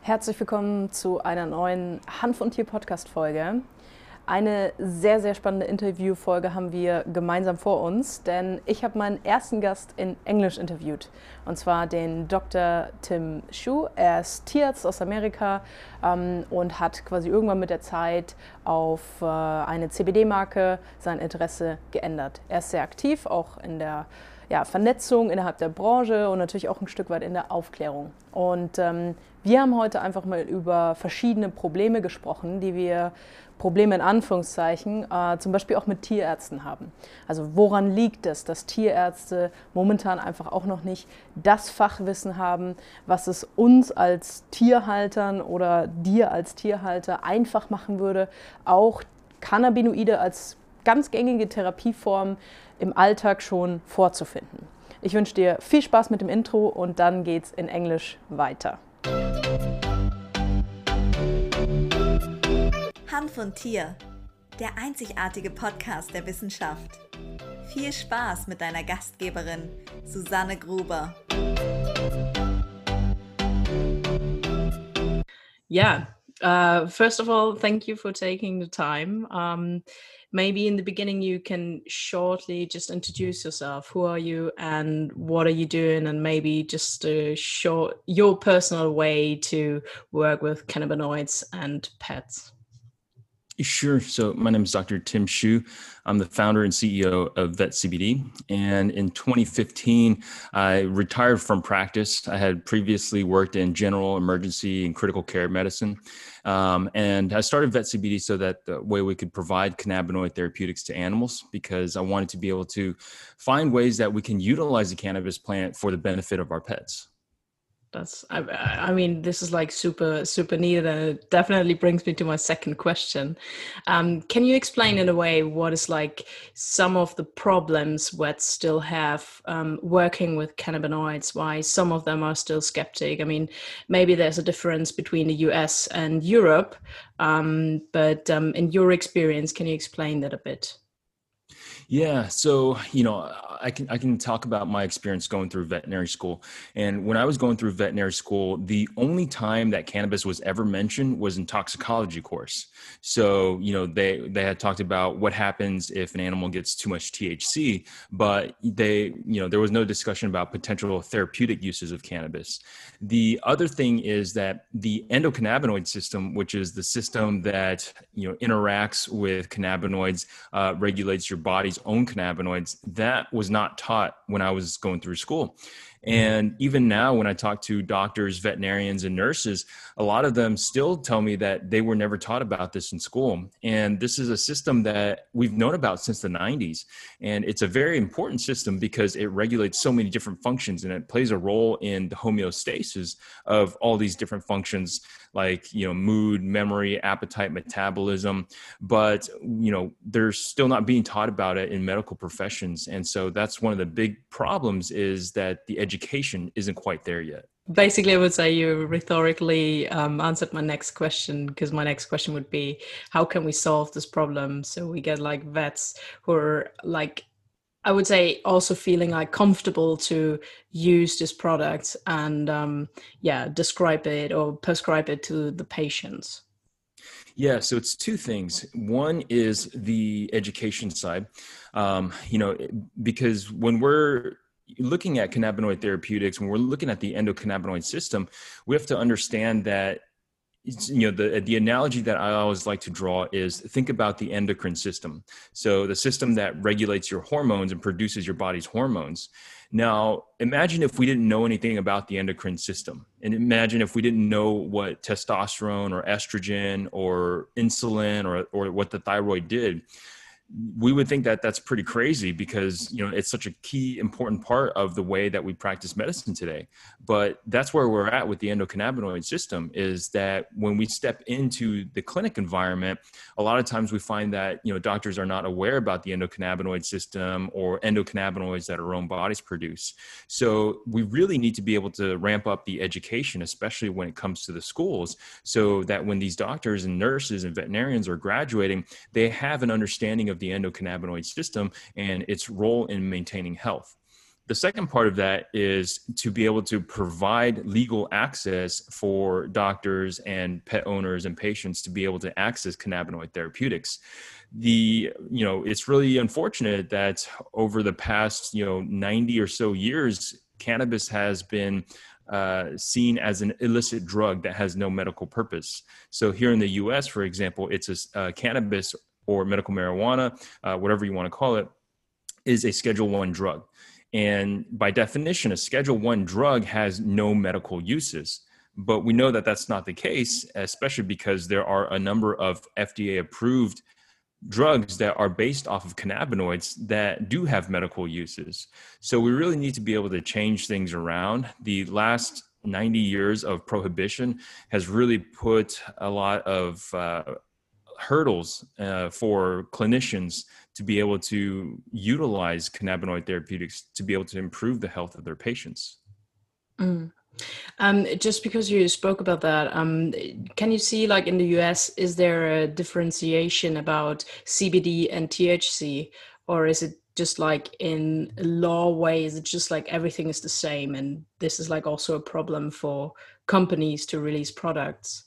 Herzlich willkommen zu einer neuen Hanf- und Tier-Podcast-Folge. Eine sehr, sehr spannende Interviewfolge haben wir gemeinsam vor uns, denn ich habe meinen ersten Gast in Englisch interviewt, und zwar den Dr. Tim Shue. Er ist Tierarzt aus Amerika und hat quasi irgendwann mit der Zeit auf eine CBD-Marke sein Interesse geändert. Er ist sehr aktiv, auch in der Vernetzung innerhalb der Branche und natürlich auch ein Stück weit in der Aufklärung. Und wir haben heute einfach mal über verschiedene Probleme gesprochen, Probleme in Anführungszeichen, zum Beispiel auch mit Tierärzten haben. Also woran liegt es, dass Tierärzte momentan einfach auch noch nicht das Fachwissen haben, was es uns als Tierhaltern oder dir als Tierhalter einfach machen würde, auch Cannabinoide als ganz gängige Therapieform im Alltag schon vorzufinden. Ich wünsche dir viel Spaß mit dem Intro und dann geht's in Englisch weiter. Hanf und Tier, der einzigartige Podcast der Wissenschaft. Viel Spaß mit deiner Gastgeberin Susanne Gruber. First of all, thank you for taking the time. Maybe in the beginning you can shortly just introduce yourself. Who are you and what are you doing? And maybe just your personal way to work with cannabinoids and pets. Sure. So my name is Dr. Tim Shue. I'm the founder and CEO of Vet CBD. And in 2015, I retired from practice. I had previously worked in general emergency and critical care medicine. And I started Vet CBD so that the way we could provide cannabinoid therapeutics to animals, because I wanted to be able to find ways that we can utilize the cannabis plant for the benefit of our pets. I mean, this is like super, super neat, and it definitely brings me to my second question. Can you explain in a way what is like some of the problems vets still have working with cannabinoids, why some of them are still skeptic? I mean, maybe there's a difference between the US and Europe, but in your experience, can you explain that a bit? Yeah. So, I can talk about my experience going through veterinary school. And when I was going through veterinary school, the only time that cannabis was ever mentioned was in toxicology course. So, they had talked about what happens if an animal gets too much THC, but there was no discussion about potential therapeutic uses of cannabis. The other thing is that the endocannabinoid system, which is the system that, interacts with cannabinoids, regulates your body's own cannabinoids, that was not taught when I was going through school. And even now, when I talk to doctors, veterinarians, and nurses, a lot of them still tell me that they were never taught about this in school. And this is a system that we've known about since the 90s. And it's a very important system because it regulates so many different functions, and it plays a role in the homeostasis of all these different functions like, mood, memory, appetite, metabolism. But, they're still not being taught about it in medical professions. And so that's one of the big problems, is that the education isn't quite there yet. Basically, I would say you rhetorically answered my next question, because my next question would be, how can we solve this problem so we get like vets who are like, I would say, also feeling like comfortable to use this product and describe it or prescribe it to the patients? Yeah, so it's two things. One is the education side, because when we're looking at cannabinoid therapeutics, when we're looking at the endocannabinoid system, we have to understand that the analogy that I always like to draw is, think about the endocrine system. So the system that regulates your hormones and produces your body's hormones. Now, imagine if we didn't know anything about the endocrine system, and imagine if we didn't know what testosterone or estrogen or insulin or what the thyroid did. We would think that that's pretty crazy, because it's such a key important part of the way that we practice medicine today. But that's where we're at with the endocannabinoid system, is that when we step into the clinic environment, a lot of times we find that doctors are not aware about the endocannabinoid system or endocannabinoids that our own bodies produce. So we really need to be able to ramp up the education, especially when it comes to the schools, so that when these doctors and nurses and veterinarians are graduating, they have an understanding of the endocannabinoid system and its role in maintaining health. The second part of that is to be able to provide legal access for doctors and pet owners and patients to be able to access cannabinoid therapeutics. It's really unfortunate that over the past, 90 or so years, cannabis has been seen as an illicit drug that has no medical purpose. So here in the US, for example, it's a cannabis or medical marijuana, whatever you want to call it, is a Schedule I drug. And by definition, a Schedule I drug has no medical uses. But we know that that's not the case, especially because there are a number of FDA-approved drugs that are based off of cannabinoids that do have medical uses. So we really need to be able to change things around. The last 90 years of prohibition has really put a lot of hurdles for clinicians to be able to utilize cannabinoid therapeutics to be able to improve the health of their patients. Mm. Just because you spoke about that, can you see, like in the US, is there a differentiation about CBD and THC, or is it just like in law way, is it just like everything is the same, and this is like also a problem for companies to release products?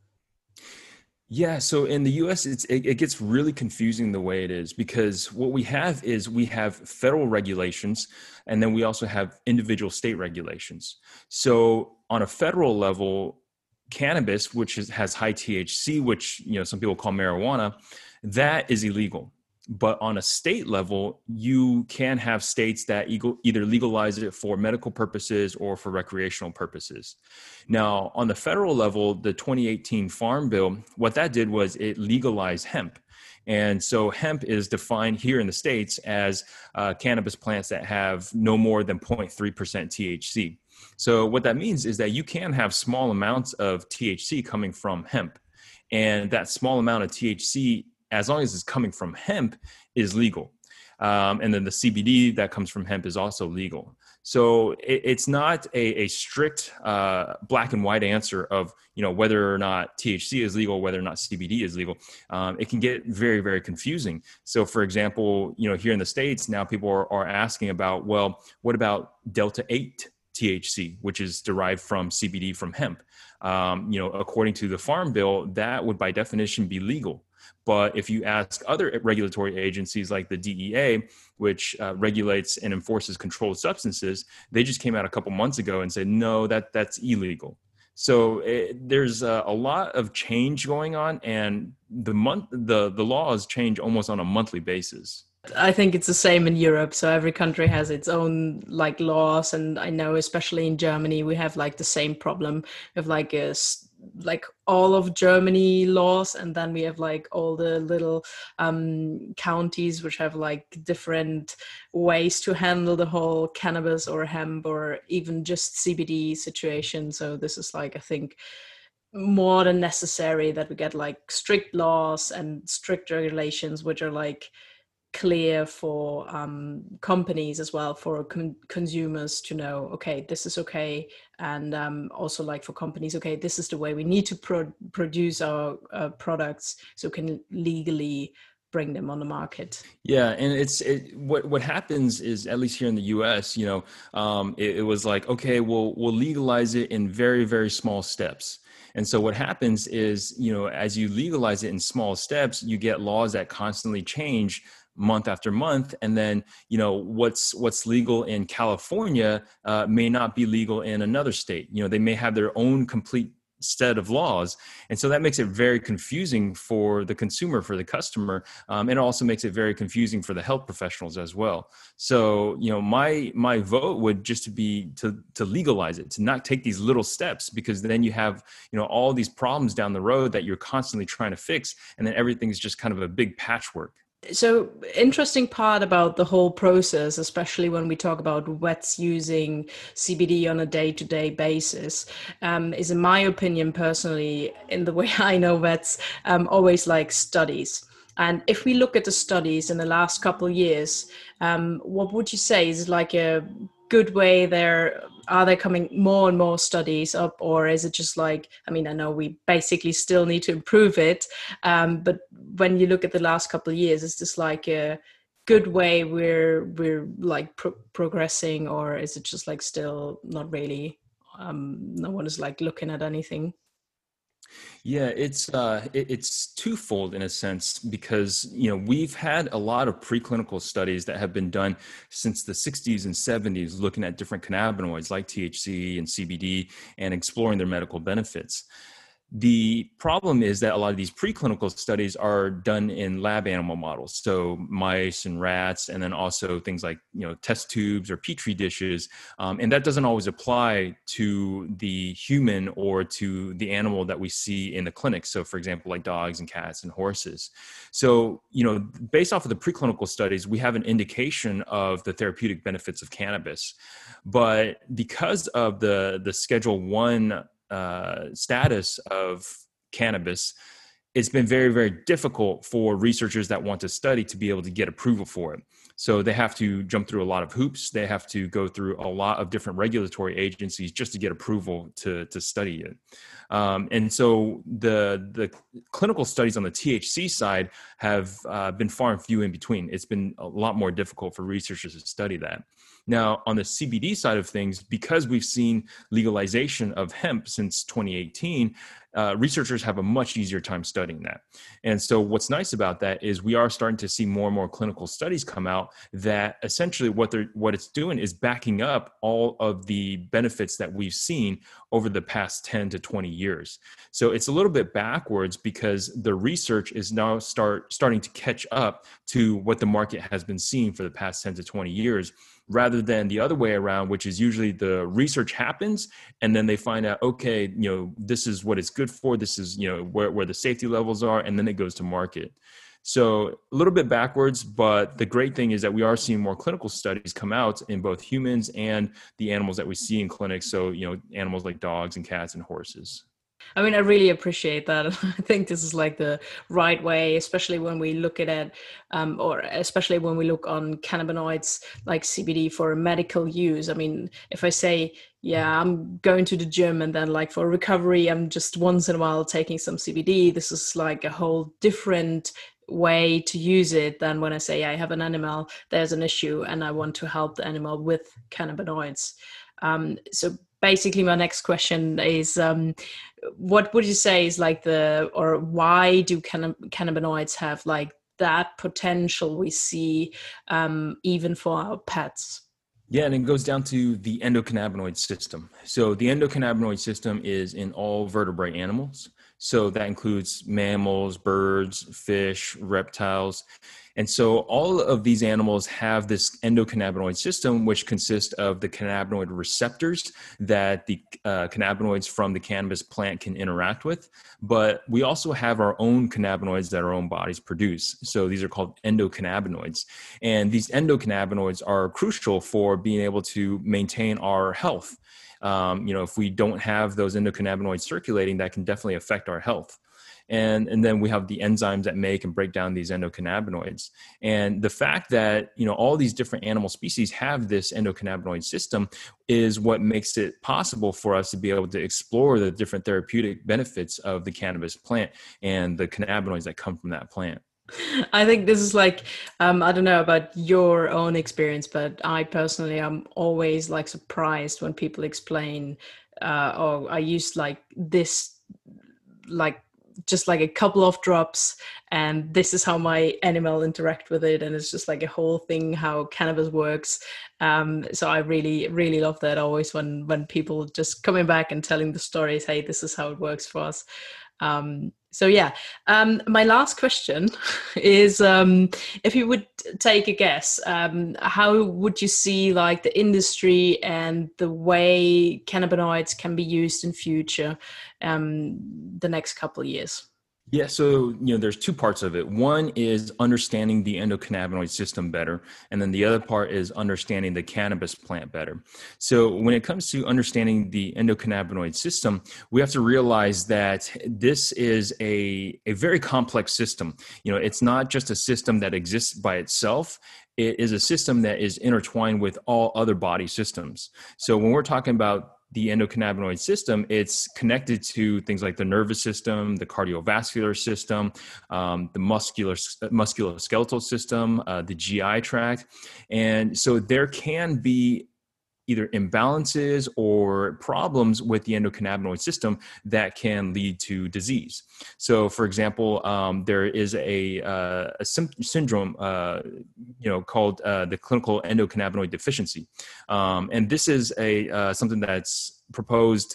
Yeah, so in the US, it gets really confusing the way it is, because what we have is we have federal regulations, and then we also have individual state regulations. So on a federal level, cannabis, which has high THC, which some people call marijuana, that is illegal. But on a state level, you can have states that either legalize it for medical purposes or for recreational purposes. Now, on the federal level, the 2018 Farm Bill, what that did was it legalized hemp. And so hemp is defined here in the States as cannabis plants that have no more than 0.3% THC. So what that means is that you can have small amounts of THC coming from hemp. And that small amount of THC, as long as it's coming from hemp, is legal. And then the CBD that comes from hemp is also legal. So it's not a strict black and white answer of whether or not THC is legal, whether or not CBD is legal. It can get very, very confusing. So for example, here in the States, now people are asking about, well, what about Delta 8 THC, which is derived from CBD from hemp? According to the Farm Bill, that would by definition be legal. But if you ask other regulatory agencies like the DEA, which regulates and enforces controlled substances, they just came out a couple months ago and said, no, that's illegal. So there's a lot of change going on, and the laws change almost on a monthly basis. I think it's the same in Europe. So every country has its own like laws, and I know especially in Germany we have like the same problem of like all of Germany laws, and then we have like all the little counties which have like different ways to handle the whole cannabis or hemp or even just CBD situation. So this is like, I think, more than necessary that we get like strict laws and strict regulations which are like clear for companies as well, for consumers to know, okay, this is okay, and also like for companies, okay, this is the way we need to produce our products so we can legally bring them on the market. Yeah, and what happens is, at least here in the U.S., it was like, okay, we'll legalize it in very, very small steps. And so what happens is, as you legalize it in small steps, you get laws that constantly change month after month. And then, what's legal in California may not be legal in another state. They may have their own complete set of laws. And so that makes it very confusing for the consumer, for the customer. And it also makes it very confusing for the health professionals as well. So, my vote would just be to legalize it, to not take these little steps, because then you have, all these problems down the road that you're constantly trying to fix. And then everything's just kind of a big patchwork. So interesting part about the whole process, especially when we talk about vets using CBD on a day-to-day basis, is, in my opinion, personally, in the way I know vets, always like studies. And if we look at the studies in the last couple of years, what would you say is like a good way there? Are there coming more and more studies up, or is it just like, I know we basically still need to improve it, but when you look at the last couple of years, is this like a good way we're like progressing, or is it just like still not really? No one is like looking at anything. Yeah, it's twofold in a sense because we've had a lot of preclinical studies that have been done since the 60s and 70s looking at different cannabinoids like THC and CBD and exploring their medical benefits. The problem is that a lot of these preclinical studies are done in lab animal models, so mice and rats, and then also things like test tubes or petri dishes, and that doesn't always apply to the human or to the animal that we see in the clinic. So, for example, like dogs and cats and horses. So, based off of the preclinical studies, we have an indication of the therapeutic benefits of cannabis, but because of the Schedule 1 status of cannabis, it's been very, very difficult for researchers that want to study to be able to get approval for it. So they have to jump through a lot of hoops. They have to go through a lot of different regulatory agencies just to get approval to study it. And so the clinical studies on the THC side have been far and few in between. It's been a lot more difficult for researchers to study that. Now, on the CBD side of things, because we've seen legalization of hemp since 2018, researchers have a much easier time studying that. And so what's nice about that is we are starting to see more and more clinical studies come out that essentially what it's doing is backing up all of the benefits that we've seen over the past 10 to 20 years. So it's a little bit backwards because the research is now starting to catch up to what the market has been seeing for the past 10 to 20 years, rather than the other way around, which is usually the research happens and then they find out, okay, this is what it's good for. This is, where the safety levels are, and then it goes to market. So a little bit backwards, but the great thing is that we are seeing more clinical studies come out in both humans and the animals that we see in clinics. So, animals like dogs and cats and horses. I mean, I really appreciate that. I think this is like the right way, especially when we look at it, or especially when we look on cannabinoids like CBD for medical use. I mean, if I say, yeah, I'm going to the gym and then like for recovery, I'm just once in a while taking some CBD, this is like a whole different way to use it than when I say I have an animal, there's an issue and I want to help the animal with cannabinoids. So basically my next question is, what would you say is like why do cannabinoids have like that potential we see even for our pets? Yeah, and it goes down to the endocannabinoid system. So the endocannabinoid system is in all vertebrate animals. So that includes mammals, birds, fish, reptiles. And so all of these animals have this endocannabinoid system, which consists of the cannabinoid receptors that the cannabinoids from the cannabis plant can interact with. But we also have our own cannabinoids that our own bodies produce. So these are called endocannabinoids. And these endocannabinoids are crucial for being able to maintain our health. If we don't have those endocannabinoids circulating, that can definitely affect our health. And then we have the enzymes that make and break down these endocannabinoids. And the fact that, all these different animal species have this endocannabinoid system is what makes it possible for us to be able to explore the different therapeutic benefits of the cannabis plant and the cannabinoids that come from that plant. I think this is like, I don't know about your own experience, but I personally am always like surprised when people explain, or I use like this, like just like a couple of drops and this is how my animal interact with it, and it's just like a whole thing how cannabis works. So I really, really love that always when people just coming back and telling the stories, hey, this is how it works for us. So yeah, my last question is, if you would take a guess, how would you see like the industry and the way cannabinoids can be used in future, the next couple of years? Yeah, so there's two parts of it. One is understanding the endocannabinoid system better, and then the other part is understanding the cannabis plant better. So when it comes to understanding the endocannabinoid system, we have to realize that this is a very complex system. It's not just a system that exists by itself. It is a system that is intertwined with all other body systems. So when we're talking about the endocannabinoid system, it's connected to things like the nervous system, the cardiovascular system, the musculoskeletal system, the GI tract. And so there can be either imbalances or problems with the endocannabinoid system that can lead to disease. So, for example, there is a syndrome, called the clinical endocannabinoid deficiency, and this is something that's proposed.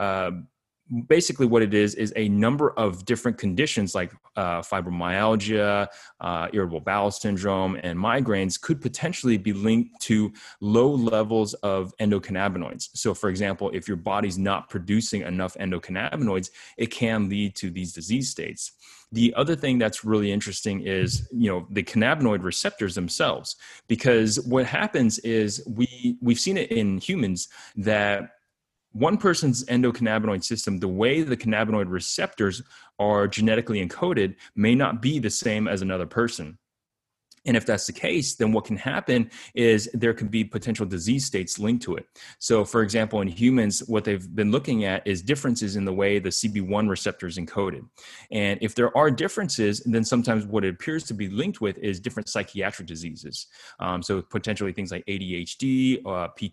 Basically, what it is a number of different conditions like fibromyalgia, irritable bowel syndrome, and migraines could potentially be linked to low levels of endocannabinoids. So, for example, if your body's not producing enough endocannabinoids, it can lead to these disease states. The other thing that's really interesting is, the cannabinoid receptors themselves, because what happens is we've seen it in humans that one person's endocannabinoid system, the way the cannabinoid receptors are genetically encoded, may not be the same as another person. And if that's the case, then what can happen is there could be potential disease states linked to it. So, for example, in humans, what they've been looking at is differences in the way the CB1 receptor is encoded. And if there are differences, then sometimes what it appears to be linked with is different psychiatric diseases. So potentially things like ADHD,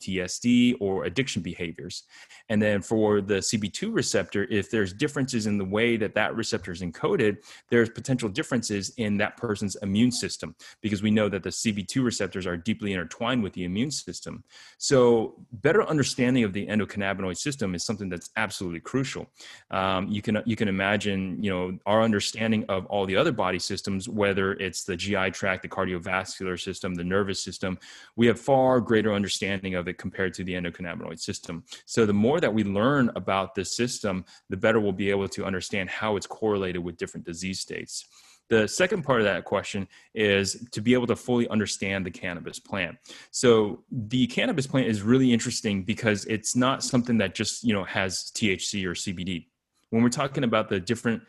PTSD, or addiction behaviors. And then for the CB2 receptor, if there's differences in the way that receptor is encoded, there's potential differences in that person's immune system, because we know that the CB2 receptors are deeply intertwined with the immune system. So better understanding of the endocannabinoid system is something that's absolutely crucial. You can imagine, our understanding of all the other body systems, whether it's the GI tract, the cardiovascular system, the nervous system, we have far greater understanding of it compared to the endocannabinoid system. So the more that we learn about this system, the better we'll be able to understand how it's correlated with different disease states. The second part of that question is to be able to fully understand the cannabis plant. So the cannabis plant is really interesting because it's not something that just, has THC or CBD. When we're talking about the different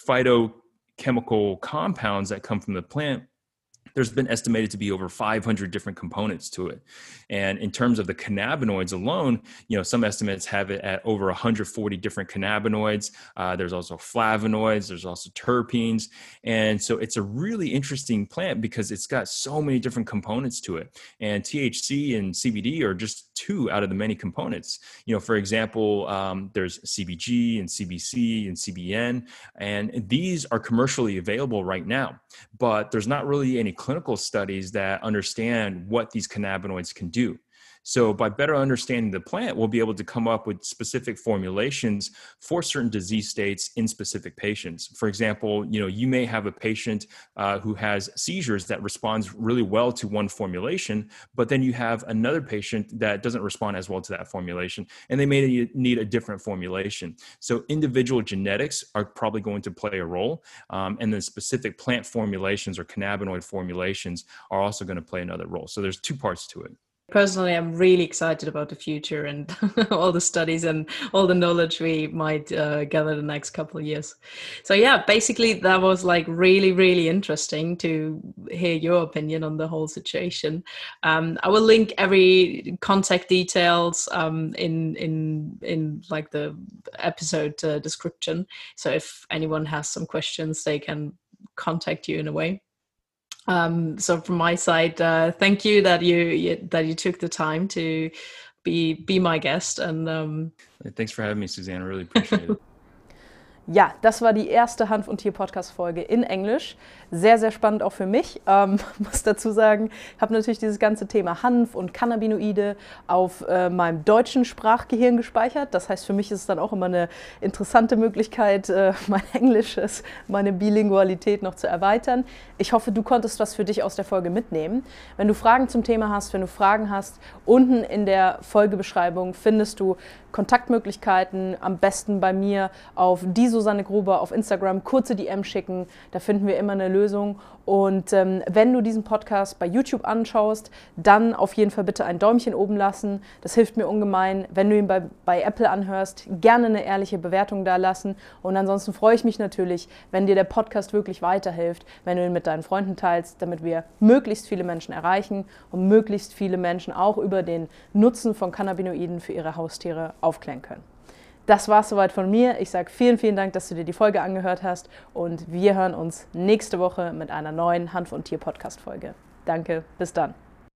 phytochemical compounds that come from the plant, there's been estimated to be over 500 different components to it. And in terms of the cannabinoids alone, some estimates have it at over 140 different cannabinoids. There's also flavonoids, there's also terpenes. And so it's a really interesting plant because it's got so many different components to it. And THC and CBD are just two out of the many components. For example, there's CBG and CBC and CBN, and these are commercially available right now, but there's not really any clinical studies that understand what these cannabinoids can do. So by better understanding the plant, we'll be able to come up with specific formulations for certain disease states in specific patients. For example, you may have a patient who has seizures that responds really well to one formulation, but then you have another patient that doesn't respond as well to that formulation, and they may need a different formulation. So individual genetics are probably going to play a role, and then specific plant formulations or cannabinoid formulations are also going to play another role. So there's two parts to it. Personally, I'm really excited about the future and all the studies and all the knowledge we might gather the next couple of years. So yeah, basically that was like really, really interesting to hear your opinion on the whole situation. I will link every contact details in like the episode description. So if anyone has some questions, they can contact you in a way. So from my side, thank you that you took the time to be my guest. Und thanks for having me, Suzanne. I really appreciate it. Ja, das war die erste Hanf- und Tier-Podcast-Folge in Englisch. Sehr, sehr spannend auch für mich. Muss dazu sagen, ich habe natürlich dieses ganze Thema Hanf und Cannabinoide auf meinem deutschen Sprachgehirn gespeichert. Das heißt, für mich ist es dann auch immer eine interessante Möglichkeit, mein Englisches, meine Bilingualität noch zu erweitern. Ich hoffe, du konntest was für dich aus der Folge mitnehmen. Wenn du Fragen zum Thema hast, wenn du Fragen hast, unten in der Folgebeschreibung findest du Kontaktmöglichkeiten, am besten bei mir auf diese Susanne Gruber auf Instagram, kurze DM schicken, da finden wir immer eine Lösung. Und wenn du diesen Podcast bei YouTube anschaust, dann auf jeden Fall bitte ein Däumchen oben lassen. Das hilft mir ungemein. Wenn du ihn bei Apple anhörst, gerne eine ehrliche Bewertung da lassen. Und ansonsten freue ich mich natürlich, wenn dir der Podcast wirklich weiterhilft, wenn du ihn mit deinen Freunden teilst, damit wir möglichst viele Menschen erreichen und möglichst viele Menschen auch über den Nutzen von Cannabinoiden für ihre Haustiere aufklären können. Das war es soweit von mir. Ich sage vielen, vielen Dank, dass du dir die Folge angehört hast und wir hören uns nächste Woche mit einer neuen Hanf- und Tier-Podcast-Folge. Danke, bis dann.